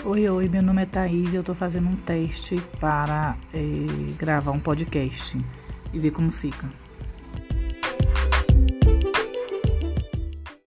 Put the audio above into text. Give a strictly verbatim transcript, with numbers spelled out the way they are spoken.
Oi, oi, meu nome é Thaís e eu tô fazendo um teste para eh, gravar um podcast e ver como fica.